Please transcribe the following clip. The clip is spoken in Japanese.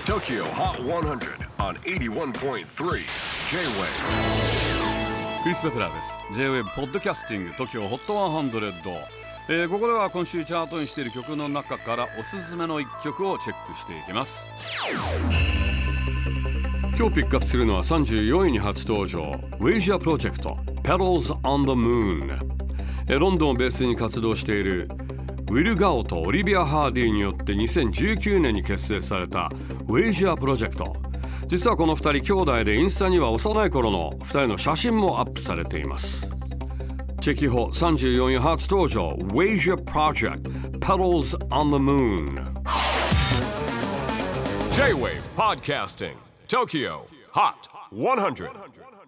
TOKYO HOT 100 on 81.3 J-WAVE クリス・ベプラーです。 J-WAVE ポッドキャスティング TOKYO HOT 100、ここでは今週チャートにしている曲の中からおすすめの一曲をチェックしていきます。今日ピックアップするのは34位に初登場 Wasia Project Petals on the Moon、ロンドンをベースに活動しているウィル・ガオとオリビア・ハーディによって2019年に結成された Wasia Project。実はこの2人兄弟でインスタには幼い頃の2人の写真もアップされています。チェキホ34位初登場 Wasia Project Petals on the Moon。 J-WAVE PODCASTING TOKYO HOT 100